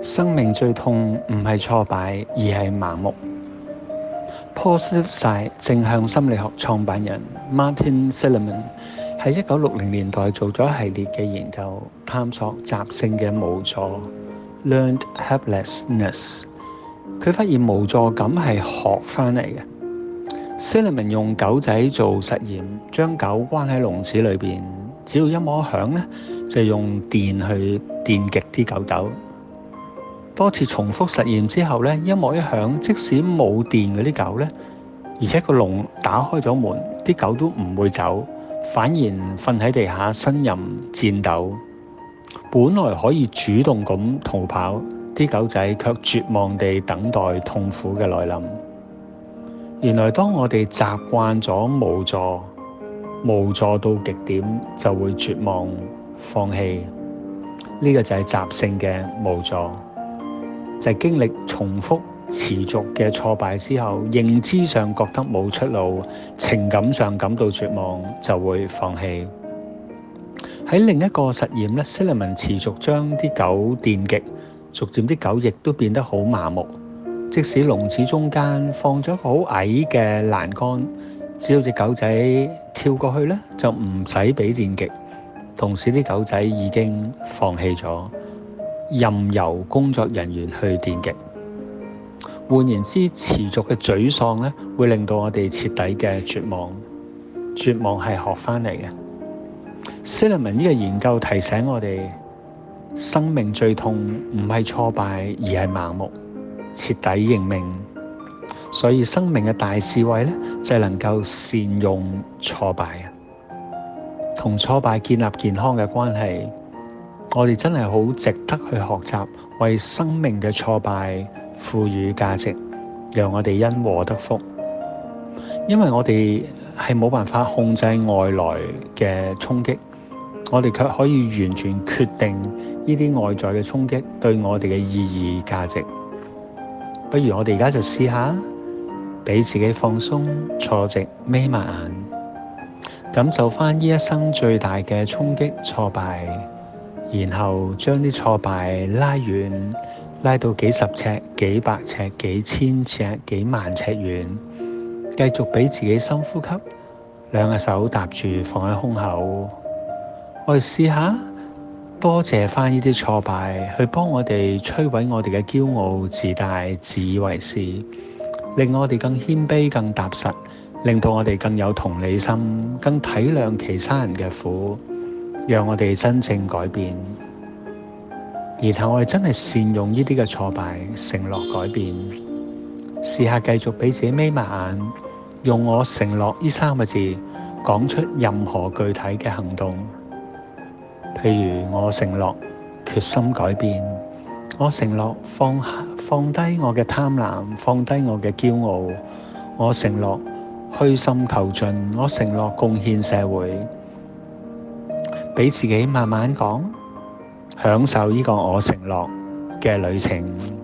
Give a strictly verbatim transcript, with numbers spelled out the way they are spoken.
生命最痛唔係挫敗，而係盲目。Positive Side 正向心理學創辦人 Martin Seligman 喺一九六零年代做咗一系列嘅研究，探索習性嘅無助 （learned helplessness）。佢發現無助感係學翻嚟嘅。Seligman 用狗仔做實驗，將狗關喺籠子裏邊，只要一摸響咧，就用電去電擊啲狗狗。多次重複實驗之後咧，一摸一響，即使冇電嗰啲狗咧，而且個籠打開咗門，啲狗都唔會走，反而瞓喺地下呻吟顫抖。本來可以主動咁逃跑，啲狗仔卻絕望地等待痛苦嘅來臨。原來當我哋習慣咗無助，無助到極點就會絕望放棄。呢個就係習性嘅無助。就係經歷重複持續嘅挫敗之後，認知上覺得冇出路，情感上感到絕望，就會放棄。喺另一個實驗咧，Seligman持續將啲狗電擊，逐漸啲狗亦都變得好麻木。即使籠子中間放咗個好矮嘅欄杆，只要隻狗仔跳過去咧，就唔使俾電擊。同時啲狗仔已經放棄咗，任由工作人員去電擊。換言之，持續嘅沮喪咧，會令到我哋徹底嘅絕望。絕望係學翻嚟嘅。Seligman 呢個研究提醒我哋，生命最痛唔係挫敗，而係盲目，徹底認命。所以生命嘅大智慧咧，就係能夠善用挫敗，同挫敗建立健康嘅關係。我哋真係好值得去學習，為生命嘅挫敗賦予價值，讓我哋因禍得福。因為我哋係冇辦法控制外來嘅衝擊，我哋卻可以完全決定呢啲外在嘅衝擊對我哋嘅意義價值。不如我哋而家就試下，俾自己放鬆，坐直，眯埋眼，感受翻呢一生最大嘅衝擊挫敗。然後將啲挫敗拉遠，拉到幾十尺、幾百尺、幾千尺、幾萬尺遠，繼續俾自己深呼吸，兩個手搭住放喺胸口。我哋試下多謝翻呢啲挫敗，去幫我哋摧毀我哋嘅驕傲、自大、自以為是，令我哋更謙卑、更踏實，令到我哋更有同理心，更體諒其他人嘅苦。讓我哋真正改變，然後我哋真係善用呢啲嘅挫敗，承諾改變。試下繼續俾自己眯埋眼，用我承諾呢三個字講出任何具體嘅行動。譬如我承諾決心改變，我承諾放放低我嘅貪婪，放低我嘅驕傲，我承諾虛心求進，我承諾貢獻社會。俾自己慢慢講，享受呢個我承諾嘅旅程。